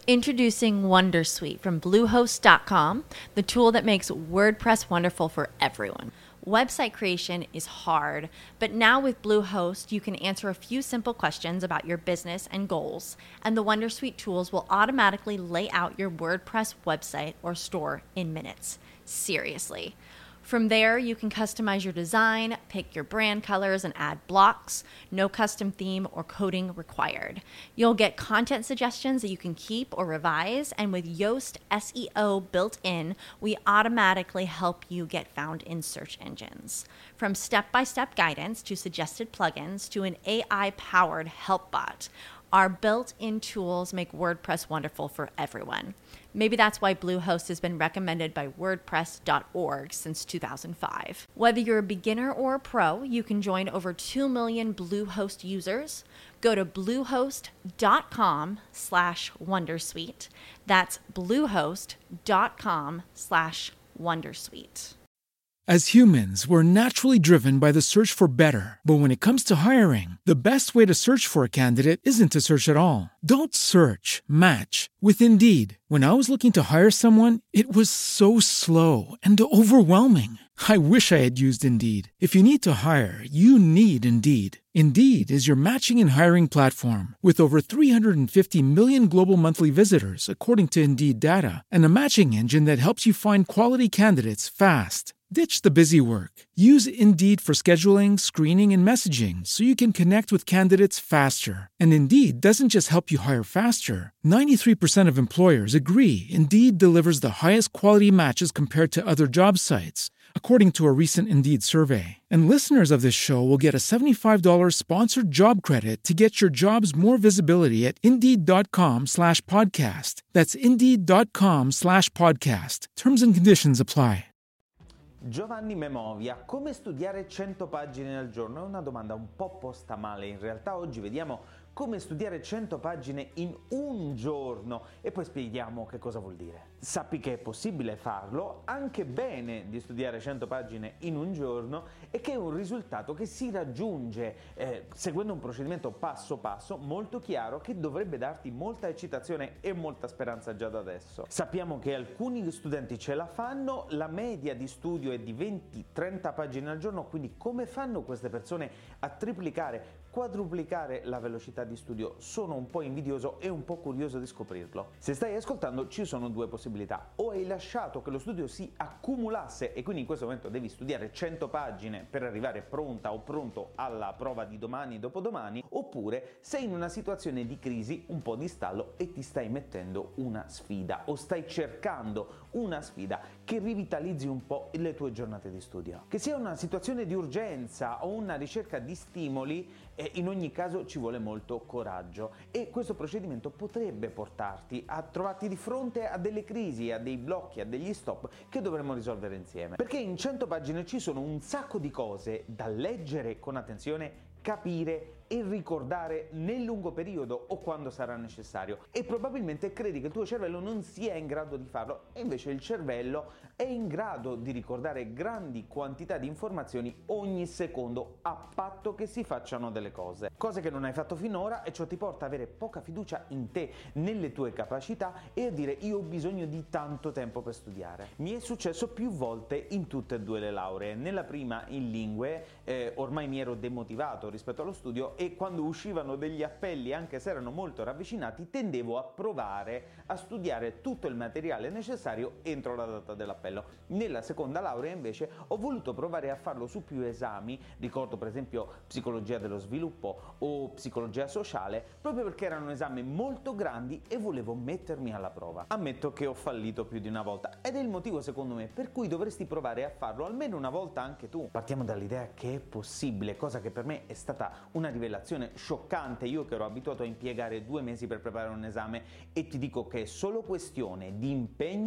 Introducing Wondersuite from Bluehost.com, the tool that makes WordPress wonderful for everyone. Website creation is hard, but now with Bluehost, you can answer a few simple questions about your business and goals, and the Wondersuite tools will automatically lay out your WordPress website or store in minutes. Seriously. From there, you can customize your design, pick your brand colors, and add blocks. No custom theme or coding required. You'll get content suggestions that you can keep or revise, and with Yoast SEO built in, we automatically help you get found in search engines. From step-by-step guidance to suggested plugins to an AI-powered help bot, our built-in tools make WordPress wonderful for everyone. Maybe that's why Bluehost has been recommended by WordPress.org since 2005. Whether you're a beginner or a pro, you can join over 2 million Bluehost users. Go to bluehost.com/wondersuite. That's bluehost.com/wondersuite. As humans, we're naturally driven by the search for better. But when it comes to hiring, the best way to search for a candidate isn't to search at all. Don't search, match with Indeed. When I was looking to hire someone, it was so slow and overwhelming. I wish I had used Indeed. If you need to hire, you need Indeed. Indeed is your matching and hiring platform with over 350 million global monthly visitors, according to Indeed data, and a matching engine that helps you find quality candidates fast. Ditch the busy work. Use Indeed for scheduling, screening, and messaging so you can connect with candidates faster. And Indeed doesn't just help you hire faster. 93% of employers agree Indeed delivers the highest quality matches compared to other job sites, according to a recent Indeed survey. And listeners of this show will get a $75 sponsored job credit to get your jobs more visibility at Indeed.com/podcast. That's Indeed.com/podcast. Terms and conditions apply. Giovanni Memovia, come studiare 100 pagine al giorno? È una domanda un po' posta male, in realtà oggi vediamo come studiare 100 pagine in un giorno e poi spieghiamo che cosa vuol dire. Sappi che è possibile farlo, anche bene di studiare 100 pagine in un giorno e che è un risultato che si raggiunge seguendo un procedimento passo passo molto chiaro che dovrebbe darti molta eccitazione e molta speranza già da adesso. Sappiamo che alcuni studenti ce la fanno, la media di studio è di 20-30 pagine al giorno, quindi come fanno queste persone a triplicare, quadruplicare la velocità di studio? Sono un po' invidioso e un po' curioso di scoprirlo. Se stai ascoltando ci sono due possibilità: o hai lasciato che lo studio si accumulasse e quindi in questo momento devi studiare 100 pagine per arrivare pronta o pronto alla prova di domani e dopodomani, oppure sei in una situazione di crisi, un po' di stallo e ti stai mettendo una sfida o stai cercando una sfida che rivitalizzi un po' le tue giornate di studio. Che sia una situazione di urgenza o una ricerca di stimoli, in ogni caso ci vuole molto coraggio e questo procedimento potrebbe portarti a trovarti di fronte a delle crisi, a dei blocchi, a degli stop che dovremmo risolvere insieme. Perché in 100 pagine ci sono un sacco di cose da leggere con attenzione, capire e ricordare nel lungo periodo o quando sarà necessario, e probabilmente credi che il tuo cervello non sia in grado di farlo e invece il cervello è in grado di ricordare grandi quantità di informazioni ogni secondo, a patto che si facciano delle cose che non hai fatto finora, e ciò ti porta ad avere poca fiducia in te, nelle tue capacità e a dire io ho bisogno di tanto tempo per studiare. Mi è successo più volte in tutte e due le lauree. Nella prima in lingue ormai mi ero demotivato rispetto allo studio e quando uscivano degli appelli, anche se erano molto ravvicinati, tendevo a provare a studiare tutto il materiale necessario entro la data dell'appello. Nella seconda laurea invece ho voluto provare a farlo su più esami, ricordo per esempio psicologia dello sviluppo o psicologia sociale, proprio perché erano esami molto grandi e volevo mettermi alla prova. Ammetto che ho fallito più di una volta ed è il motivo secondo me per cui dovresti provare a farlo almeno una volta anche tu. Partiamo dall'idea che è possibile, cosa che per me è stata una rivelazione scioccante, io che ero abituato a impiegare 2 mesi per preparare un esame, e ti dico che è solo questione di impegno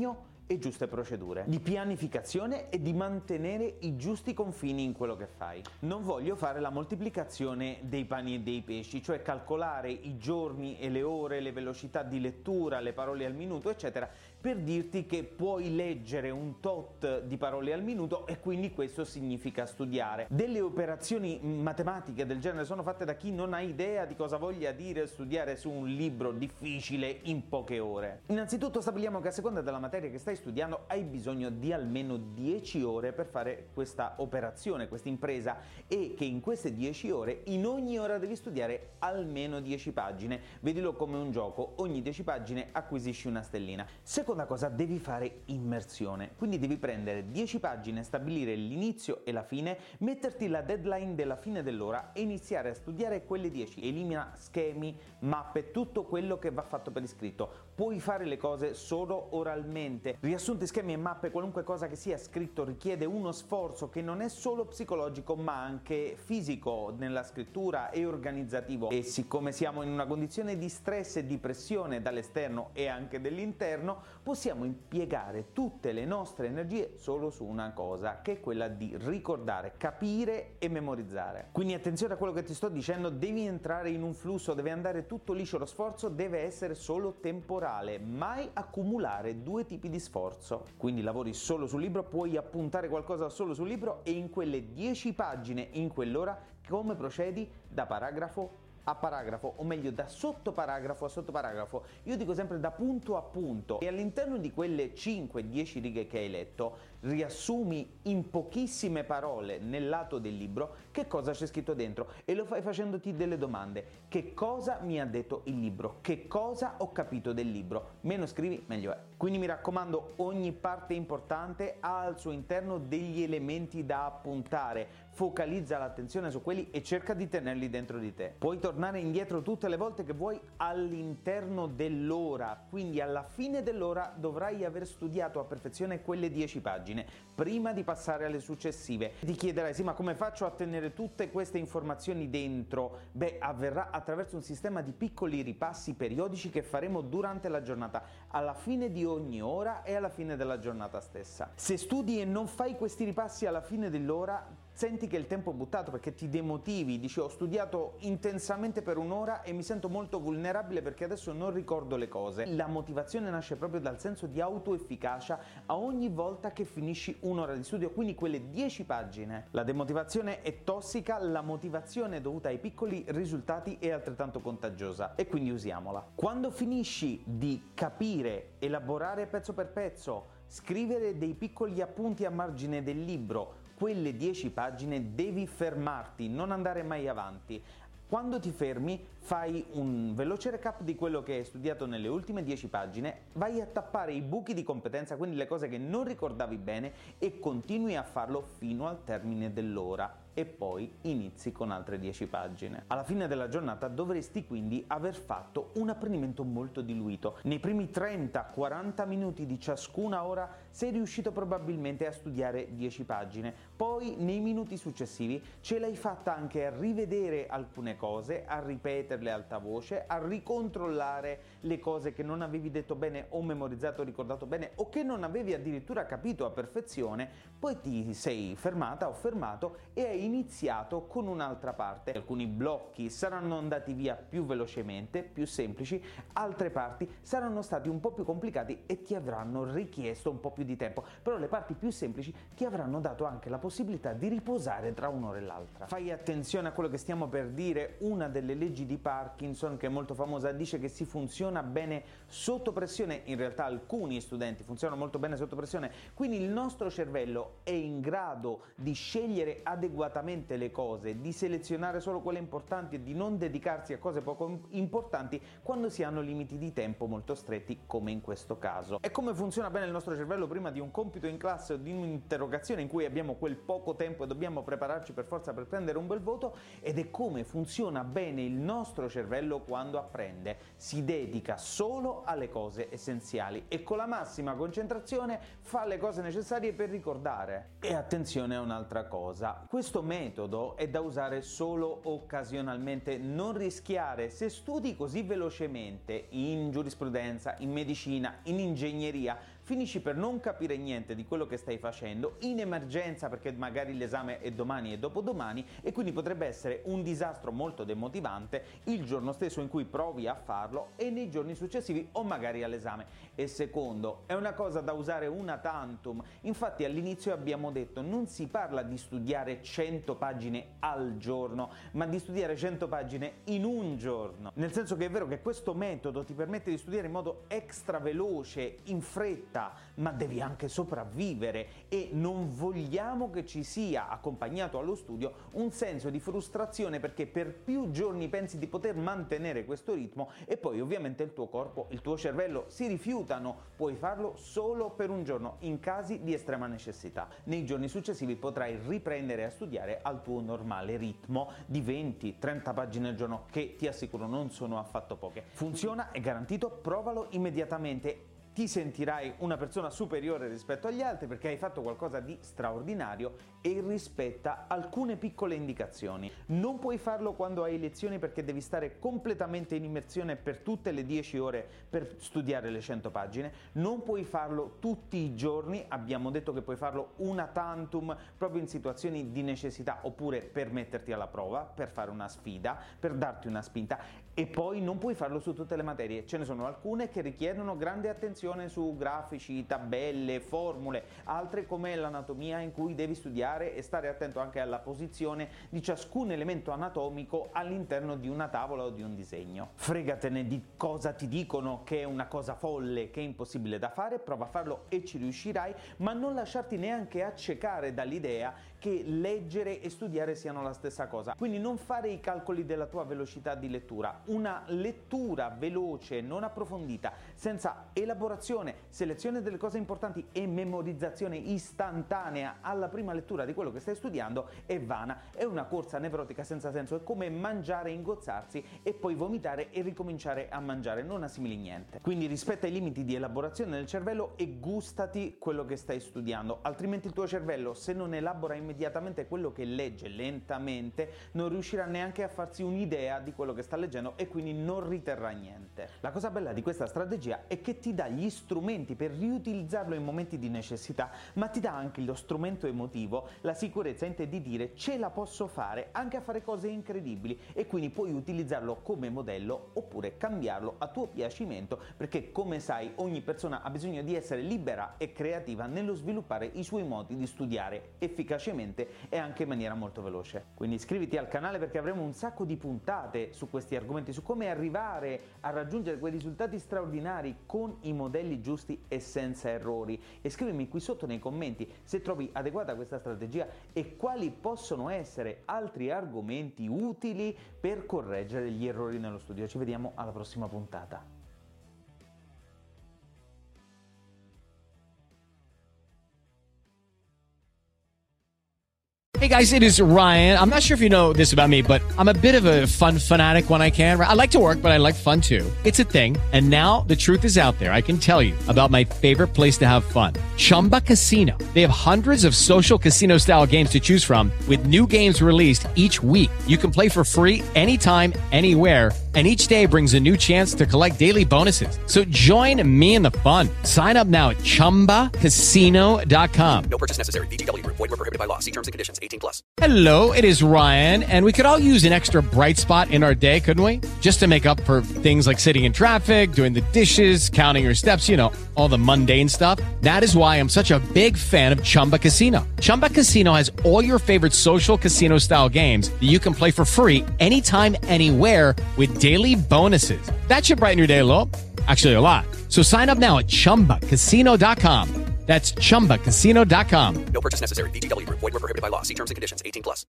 e giuste procedure, di pianificazione e di mantenere i giusti confini in quello che fai. Non voglio fare la moltiplicazione dei pani e dei pesci, cioè calcolare i giorni e le ore, le velocità di lettura, le parole al minuto, eccetera, per dirti che puoi leggere un tot di parole al minuto e quindi questo significa studiare. Delle operazioni matematiche del genere sono fatte da chi non ha idea di cosa voglia dire studiare su un libro difficile in poche ore. Innanzitutto stabiliamo che a seconda della materia che stai studiando hai bisogno di almeno 10 ore per fare questa operazione, questa impresa, e che in queste 10 ore, in ogni ora devi studiare almeno 10 pagine. Vedilo come un gioco, ogni 10 pagine acquisisci una stellina. Seconda cosa, devi fare immersione, quindi devi prendere 10 pagine, stabilire l'inizio e la fine, metterti la deadline della fine dell'ora e iniziare a studiare quelle 10. Elimina schemi, mappe, tutto quello che va fatto per iscritto. Puoi fare le cose solo oralmente. Riassunti, schemi e mappe, qualunque cosa che sia scritto richiede uno sforzo che non è solo psicologico ma anche fisico nella scrittura e organizzativo, e siccome siamo in una condizione di stress e di pressione dall'esterno e anche dell'interno, possiamo impiegare tutte le nostre energie solo su una cosa, che è quella di ricordare, capire e memorizzare. Quindi attenzione a quello che ti sto dicendo, devi entrare in un flusso, deve andare tutto liscio, lo sforzo deve essere solo temporale, mai accumulare due tipi di sforzo. Quindi lavori solo sul libro, puoi appuntare qualcosa solo sul libro e in quelle 10 pagine, in quell'ora, come procedi? Da paragrafo a paragrafo, o meglio da sottoparagrafo a sottoparagrafo. Io dico sempre da punto a punto, e all'interno di quelle 5-10 righe che hai letto riassumi in pochissime parole nel lato del libro che cosa c'è scritto dentro, e lo fai facendoti delle domande. Che cosa mi ha detto il libro? Che cosa ho capito del libro? Meno scrivi meglio è. Quindi mi raccomando, ogni parte importante ha al suo interno degli elementi da appuntare, focalizza l'attenzione su quelli e cerca di tenerli dentro di te. Puoi tornare indietro tutte le volte che vuoi all'interno dell'ora, quindi alla fine dell'ora dovrai aver studiato a perfezione quelle 10 pagine prima di passare alle successive. Ti chiederai: sì, ma come faccio a tenere tutte queste informazioni dentro? Beh, avverrà attraverso un sistema di piccoli ripassi periodici che faremo durante la giornata, alla fine di ogni ora e alla fine della giornata stessa. Se studi e non fai questi ripassi alla fine dell'ora, senti che il tempo è buttato, perché ti demotivi, dici: ho studiato intensamente per un'ora e mi sento molto vulnerabile perché adesso non ricordo le cose. La motivazione nasce proprio dal senso di autoefficacia a ogni volta che finisci un'ora di studio, quindi quelle 10 pagine. La demotivazione è tossica, la motivazione dovuta ai piccoli risultati è altrettanto contagiosa, e quindi usiamola. Quando finisci di capire, elaborare pezzo per pezzo, scrivere dei piccoli appunti a margine del libro, quelle 10 pagine, devi fermarti, non andare mai avanti. Quando ti fermi, fai un veloce recap di quello che hai studiato nelle ultime 10 pagine, vai a tappare i buchi di competenza, quindi le cose che non ricordavi bene, e continui a farlo fino al termine dell'ora. E poi inizi con altre 10 pagine. Alla fine della giornata dovresti quindi aver fatto un apprendimento molto diluito. Nei primi 30-40 minuti di ciascuna ora sei riuscito probabilmente a studiare 10 pagine, poi nei minuti successivi ce l'hai fatta anche a rivedere alcune cose, a ripeterle a alta voce, a ricontrollare le cose che non avevi detto bene o memorizzato o ricordato bene, o che non avevi addirittura capito a perfezione. Poi ti sei fermata o fermato e hai iniziato con un'altra parte. Alcuni blocchi saranno andati via più velocemente, più semplici, altre parti saranno stati un po' più complicati e ti avranno richiesto un po' più di tempo, però le parti più semplici ti avranno dato anche la possibilità di riposare tra un'ora e l'altra. Fai attenzione a quello che stiamo per dire. Una delle leggi di Parkinson, che è molto famosa, dice che si funziona bene sotto pressione. In realtà alcuni studenti funzionano molto bene sotto pressione, quindi il nostro cervello è in grado di scegliere adeguatamente le cose, di selezionare solo quelle importanti e di non dedicarsi a cose poco importanti quando si hanno limiti di tempo molto stretti, come in questo caso. E come funziona bene il nostro cervello prima di un compito in classe o di un'interrogazione in cui abbiamo quel poco tempo e dobbiamo prepararci per forza per prendere un bel voto, ed è come funziona bene il nostro cervello quando apprende. Si dedica solo alle cose essenziali e con la massima concentrazione fa le cose necessarie per ricordare. E attenzione a un'altra cosa: questo metodo è da usare solo occasionalmente, non rischiare. Se studi così velocemente in giurisprudenza, in medicina, in ingegneria, finisci per non capire niente di quello che stai facendo, in emergenza perché magari l'esame è domani e dopodomani, e quindi potrebbe essere un disastro molto demotivante il giorno stesso in cui provi a farlo e nei giorni successivi o magari all'esame. E secondo, è una cosa da usare una tantum. Infatti all'inizio abbiamo detto non si parla di studiare 100 pagine al giorno, ma di studiare 100 pagine in un giorno. Nel senso che è vero che questo metodo ti permette di studiare in modo extra veloce, in fretta, ma devi anche sopravvivere e non vogliamo che ci sia accompagnato allo studio un senso di frustrazione perché per più giorni pensi di poter mantenere questo ritmo e poi ovviamente il tuo corpo, il tuo cervello si rifiutano. Puoi farlo solo per un giorno in casi di estrema necessità. Nei giorni successivi potrai riprendere a studiare al tuo normale ritmo di 20-30 pagine al giorno, che ti assicuro non sono affatto poche. Funziona, è garantito, provalo immediatamente. Ti sentirai una persona superiore rispetto agli altri perché hai fatto qualcosa di straordinario e rispetta alcune piccole indicazioni. Non puoi farlo quando hai lezioni perché devi stare completamente in immersione per tutte le 10 ore per studiare le 100 pagine. Non puoi farlo tutti i giorni, abbiamo detto che puoi farlo una tantum proprio in situazioni di necessità oppure per metterti alla prova, per fare una sfida, per darti una spinta. E poi non puoi farlo su tutte le materie, ce ne sono alcune che richiedono grande attenzione su grafici, tabelle, formule, altre come l'anatomia in cui devi studiare e stare attento anche alla posizione di ciascun elemento anatomico all'interno di una tavola o di un disegno. Fregatene di cosa ti dicono che è una cosa folle, che è impossibile da fare, prova a farlo e ci riuscirai, ma non lasciarti neanche accecare dall'idea che leggere e studiare siano la stessa cosa. Quindi non fare i calcoli della tua velocità di lettura. Una lettura veloce, non approfondita, senza elaborazione, selezione delle cose importanti e memorizzazione istantanea alla prima lettura di quello che stai studiando è vana, è una corsa nevrotica senza senso, è come mangiare, ingozzarsi e poi vomitare e ricominciare a mangiare, non assimili niente. Quindi rispetta i limiti di elaborazione del cervello e gustati quello che stai studiando, altrimenti il tuo cervello, se non elabora immediatamente quello che legge lentamente, non riuscirà neanche a farsi un'idea di quello che sta leggendo e quindi non riterrà niente. La cosa bella di questa strategia è che ti dà gli strumenti per riutilizzarlo in momenti di necessità, ma ti dà anche lo strumento emotivo, la sicurezza in te di dire ce la posso fare anche a fare cose incredibili, e quindi puoi utilizzarlo come modello oppure cambiarlo a tuo piacimento, perché come sai ogni persona ha bisogno di essere libera e creativa nello sviluppare i suoi modi di studiare efficacemente e anche in maniera molto veloce. Quindi iscriviti al canale perché avremo un sacco di puntate su questi argomenti, su come arrivare a raggiungere quei risultati straordinari con i modelli giusti e senza errori. E scrivimi qui sotto nei commenti se trovi adeguata questa strategia e quali possono essere altri argomenti utili per correggere gli errori nello studio. Ci vediamo alla prossima puntata. Hey guys, it is Ryan. I'm not sure if you know this about me, but I'm a bit of a fun fanatic when I can. I like to work, but I like fun too. It's a thing. And now the truth is out there. I can tell you about my favorite place to have fun. Chumba Casino. They have hundreds of social casino style games to choose from with new games released each week. You can play for free anytime, anywhere. And each day brings a new chance to collect daily bonuses. So join me in the fun. Sign up now at ChumbaCasino.com. No purchase necessary. VGW. Void where prohibited by law. See terms and conditions. 18+. Hello, it is Ryan, and we could all use an extra bright spot in our day, couldn't we? Just to make up for things like sitting in traffic, doing the dishes, counting your steps, you know, all the mundane stuff. That is why I'm such a big fan of Chumba Casino. Chumba Casino has all your favorite social casino-style games that you can play for free anytime, anywhere with daily bonuses. That should brighten your day a little. Actually, a lot. So sign up now at ChumbaCasino.com. That's ChumbaCasino.com. No purchase necessary. VGW. Void where prohibited by law. See terms and conditions. 18+.